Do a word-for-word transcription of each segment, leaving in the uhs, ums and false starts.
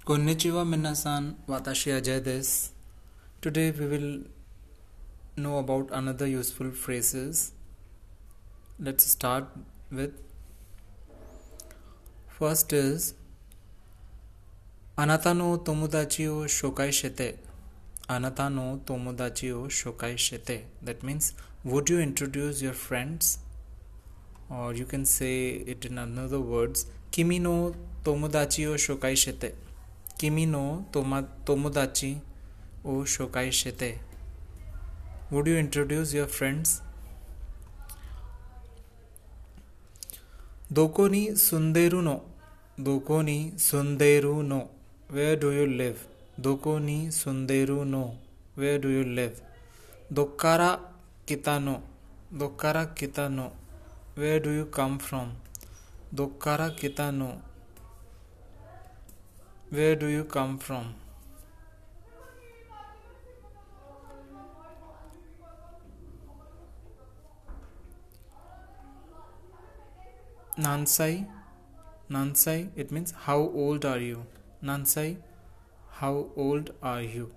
Konnichiwa minasan, watashi Ajay desu. Today we will know about another useful phrases. Let's start with first is Anata no tomodachi o shokai shite. Anata no tomodachi o shokai shite. That means, would you introduce your friends? Or you can say it in another words, Kimi no tomodachi o shokai shite. Kimi no toma, tomodachi o shokai shite. Would you introduce your friends? Doko ni sunderu no. Doko ni sunderu no. Where do you live? Doko ni sunderu no. Where do you live? Dokkara kita no. Dokkara kita no. Where do you come from? Dokkara kita no. Where do you come from? Nansai. Nansai, it means how old are you? Nansai, how old are you?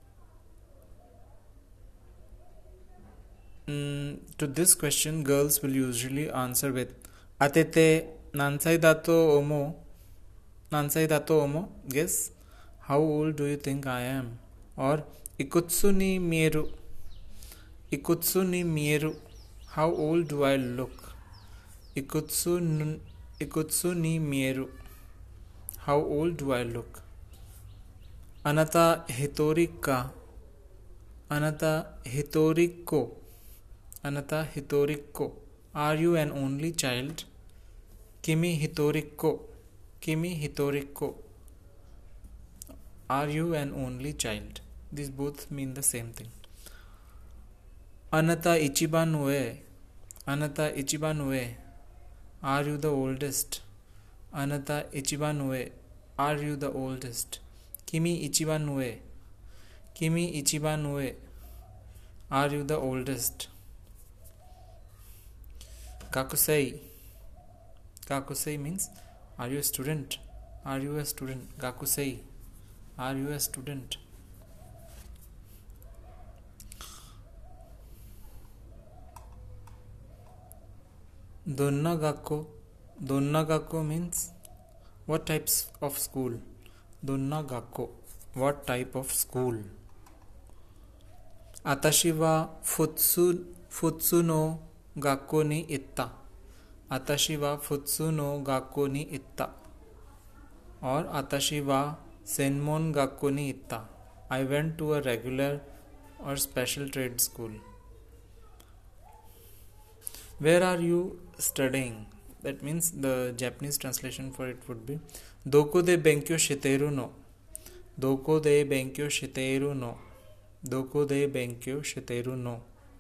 Mm, to this question, girls will usually answer with Atete Nansai dato omo. Nansai dato omo. Guess, how old do you think I am? Or Ikutsu ni mieru. Ikutsu ni mieru. How old do I look? Ikutsu, n- ikutsu ni mieru. How old do I look? Anata hitori ka. Anata hitori ko. Anata hitori ko. Are you an only child? Kimi hitori ko. Kimi hitori ko. Are you an only child? These both mean the same thing. Anata ichiban ue. Anata ichiban ue. Are you the oldest? Anata ichiban ue. Are you the oldest? Kimi ichiban ue. Kimi ichiban ue. Are you the oldest? Gakusei. Gakusei means, are you a student? Are you a student? Gakusei. Are you a student? Donna gakko. Donna gakko means, what types of school? Donna gakko. What type of school? Atashi wa futsu, futsu no gakko ni itta. Atashi wa futsu no gakko ni itta. Or Atashi wa senmon gakko ni itta. I went to a regular or special trade school. Where are you studying? That means the Japanese translation for it would be Doko de benkyou shiteru no. Doko de benkyou shiteru no. Doko de benkyou shiteru no.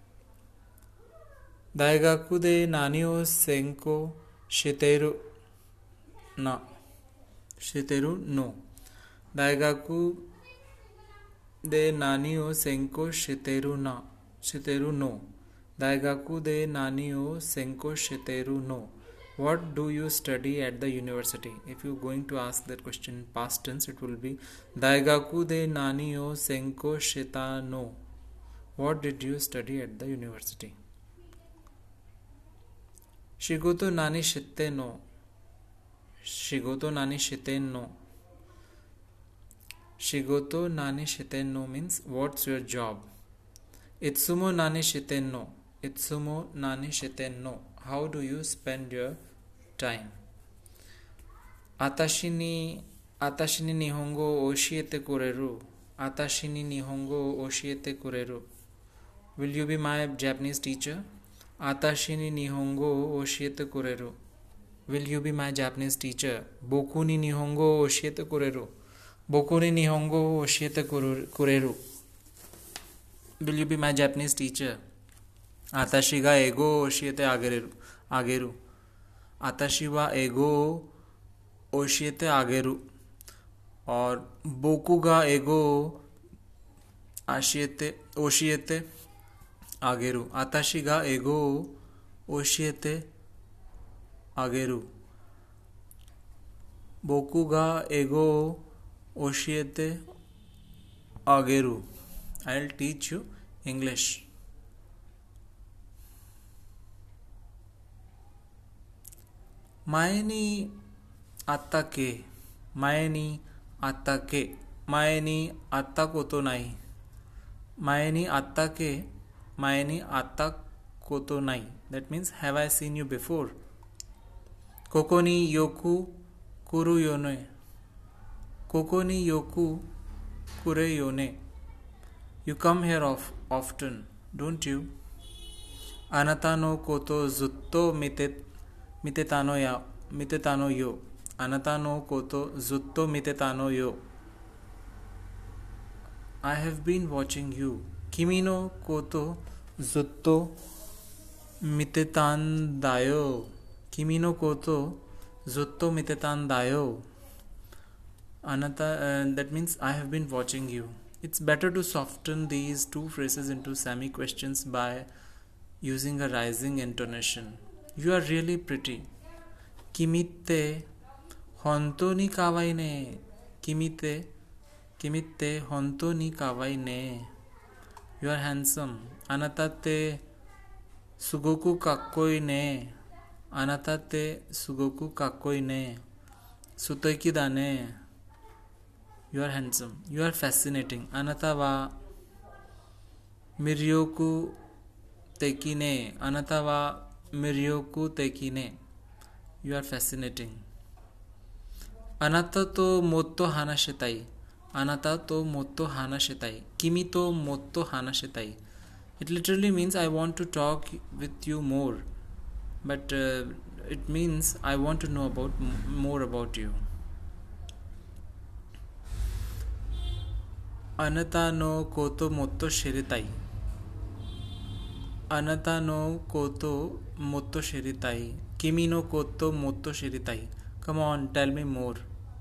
Daigaku de nani o senko shiteru na. Shiteru no. Daigaku de nani o senko shiteru na. Shiteru no. Daigaku de nani o senko shiteru no. What do you study at the university? If you're going to ask that question in past tense, it will be Daigaku de nani o senko shita no. What did you study at the university? Shigoto nani shite no. Shigoto nani shite no. Shigoto nani shite no means, what's your job? Itsumo nani shite no. Itsumo nani shite no. How do you spend your time? Atashi ni Atashi ni nihongo o oshiete kureru. Atashi ni nihongo o oshiete kureru. Will you be my Japanese teacher? Atashi ni nihongo o oshiete kureru. Will you be my Japanese teacher? Boku ni nihongo o oshiete kureru. Boku ni nihongo o oshiete kureru. Will you be my Japanese teacher? Atashi ga ego o oshiete ageru. Ageru. Atashi wa ego o oshiete ageru. Or boku ga ego ashiete oshiete ageru. Atashi ga ego oshiete ageru. Boku ga ego oshiete ageru. I'll teach you English.前にあったっけ前にあったっけ前にあったことない前にあったっけ前にあったことない That means have I seen you before ここによく来るよねここによく来るよね You come here of, often, don't you? あなたのことずっと見て見てたのや見てたのよあなたのことずっと見てたのよ I have been watching you 君のことずっと見てたんだよ君のことずっと見てたんだよあなた、uh, that means I have been watching you It's better to soften these two phrases into semi-questions by using a rising intonation You are really pretty 君って本当に可愛いね君って君って本当に可愛いね You are handsome あなたってすごくかっこいいねあなたってすごくかっこいいね素敵だね You are handsome You are fascinating あなたは魅力的ねあなたは魅力的ね You are fascinating あなたともっと話したいあなたともっと話したい君ともっと話したい It literally means I want to talk with you more but uh, it means I want to know about more about you あなたのこともっと知りたいあなたのこともっと知りたい君のこともっと知りたい Come on, tell me more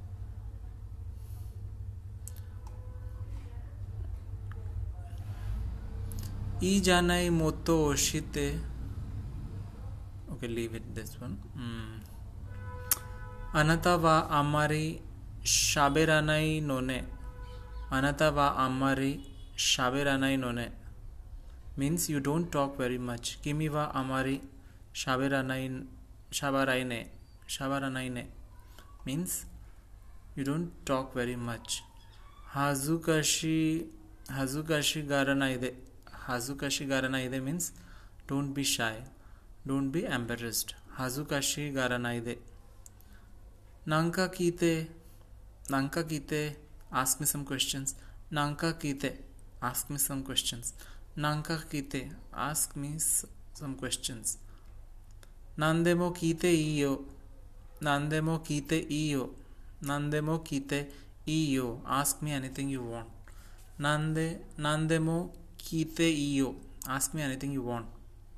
いいじゃないもっと教えて Okay, leave it this one、うん、あなたはあまり喋らないのねあなたはあまり喋らないのねmeans you don't talk very much 君はあまり喋らない喋らない喋らないね means you don't talk very much 恥ずかしい恥ずかしがらないで恥ずかしがらないで means don't be shy don't be embarrassed 恥ずかしがらないでなんか聞いてなんか聞いて ask me some questions なんか聞いて ask me some questions なんか聞いて ask me some questions 何でも聞いていいよ何でも聞いていいよ何でも聞いていいよ ask me anything you want 何で何でも聞いていいよ ask me anything you want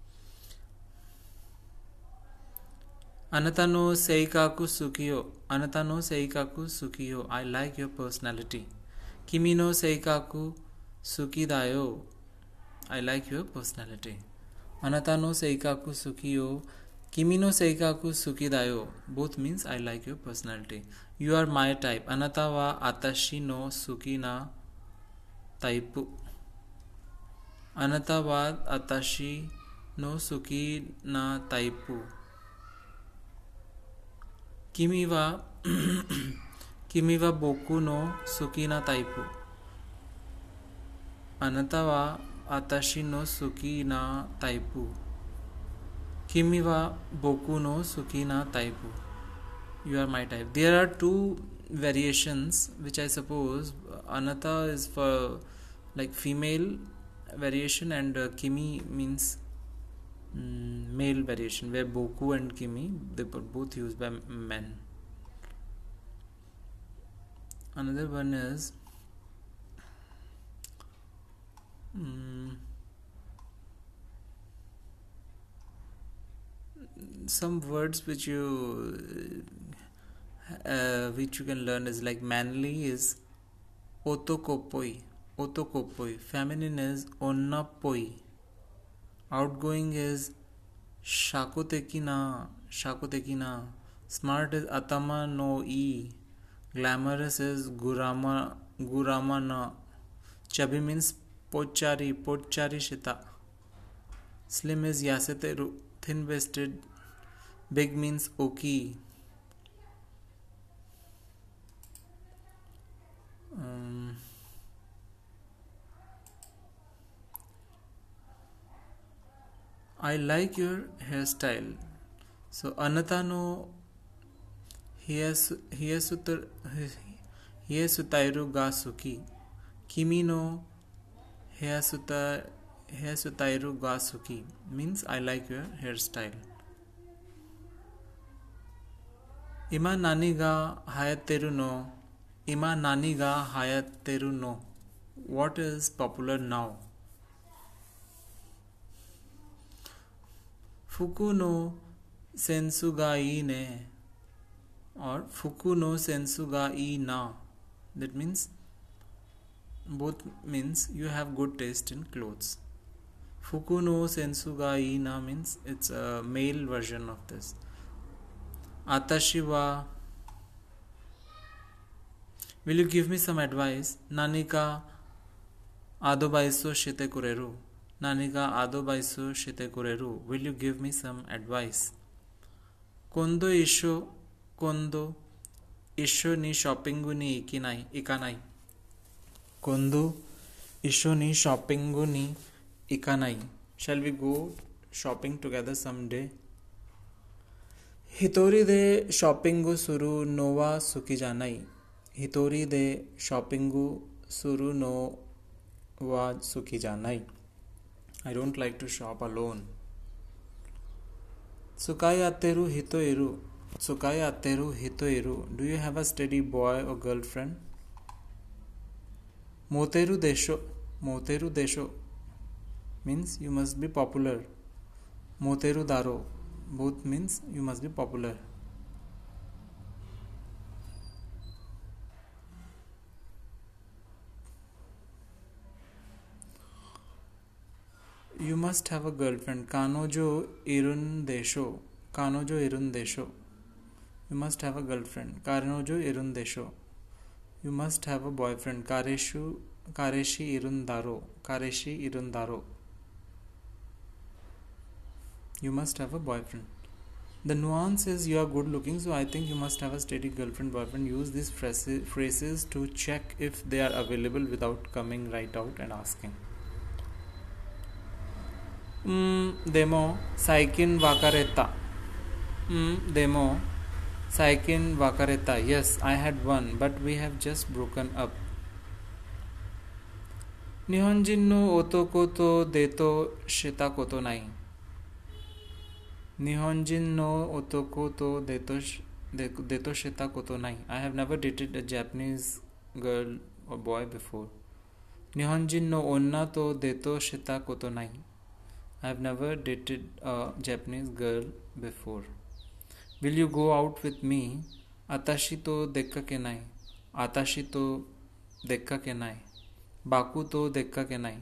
あなたの性格好きよあなたの性格好きよ I like your personality 君の性格好きだよ I like your personality あなたの性格好きよ君の性格好きだよ Both means I like your personality You are my type あなたは私の好きなタイプあなたは私の好きなタイプ君は君は僕の好きなタイプあなたは私の好きなタイプ君は僕の好きなタイプ You are my type There are two variations which I suppose Anata is for like female variation and uh, Kimi means mm, male variation where Boku and Kimi they were both used by men Another one is um, some words which you uh, which you can learn is like manly is otokopoi otokopoi feminine is onnapoi outgoing is shakotekina shakotekina smart is atama no e Glamorous is Gurama Guramana. Chubby means Pochari, Pochari Shita. Slim is Yaseteru, thin waisted. Big means Oki. Um, I like your hairstyle. So Anata no Hiesutairu ga suki. Kimi no Hiesutairu ga suki means I like your hairstyle. Ima nani ga hayateru no. Ima nani ga hayateru no. What is popular now? Fuku no sensu ga ii ne. Or fuku no sensu ga ii na. That means both means you have good taste in clothes. Fuku no sensu ga ii na means it's a male version of this. Atashi wa. Will you give me some advice? Nani ka adobaiso shite kureru. Nani ka adobaiso shite kureru. Will you give me some advice? Kondo isho kondo isho ni shoppingu ni ikinai ikanai. Kondo isho ni shoppingu ni ikanai. Shall we go shopping together someday? Hitori de shoppingu suru nowa suki janai. Hitori de shoppingu suru no wa suki janai. I don't like to shop alone. Tsukai ateru hitoiru. Tsukai ateru hitoiru. Do you have a steady boy or girlfriend? Moteru desho. Moteru desho means you must be popular. Moteru daro both means you must be popular. You must have a girlfriend. Kanojo irun desho. Kanojo irun desho. You must have a girlfriend. Kanojo irun desho. You must have a boyfriend. Kareshu Kareshi irun daro. Kareshi irun daro. You must have a boyfriend. The nuance is you are good looking, so I think you must have a steady girlfriend, boyfriend. Use these phrases to check if they are available without coming right out and asking. Mm, demo saikin wakareta. Mm, demo saikin wakareta. Yes, I had one, but we have just broken up. Nihonjin no otoko to deto shita koto nai. Nihonjin no otoko to deto deto shita koto nai. I have never dated a Japanese girl or boy before. Nihonjin no onna to deto shita koto nai. I have never dated a Japanese girl before. Will you go out with me? Atashi to dekka kenai. Atashi to dekka kenai. Baku to dekka kenai.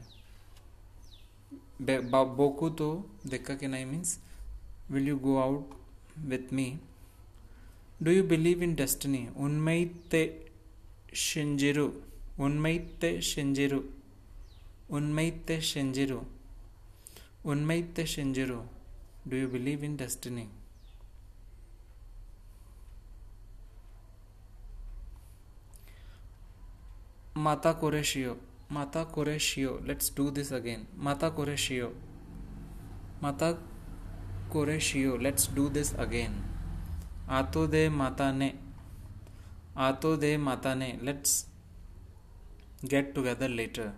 Boku to dekka kenai means will you go out with me? Do you believe in destiny? Unmaite shinjiru. Unmaite shinjiru. Unmaite shinjiru. Unmaite shinjiru. Do you believe in destiny? Mata kore shio. Mata kore shio. Let's do this again. Mata kore shio. Mata kore shio. Let's do this again. Ato de mata ne. Ato de mata ne. Let's get together later.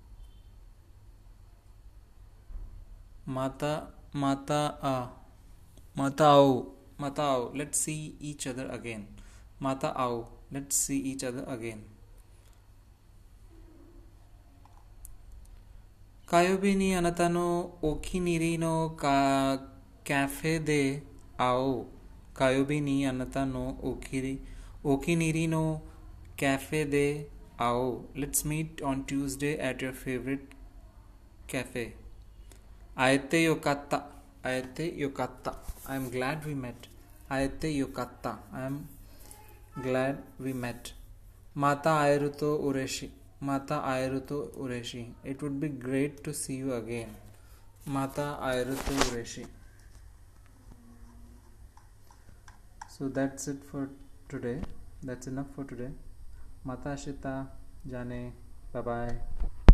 Mata mata a. Mata ao. Mata ao. Let's see each other again. Mata ao. Let's see each other again. Kayobi ni anata no okiniri no ka cafe de ao. Kayobi ni anata no okiri okiniri no cafe de ao. Let's meet on Tuesday at your favorite cafe. Aete yokatta. Aete yokatta. I am glad we met. Aete yokatta. I am Glad we met. Mata airuto ureshi. Mata airuto ureshi. It would be great to see you again. Mata airuto ureshi. So that's it for today. That's enough for today. Mata Shita Jane. Bye bye.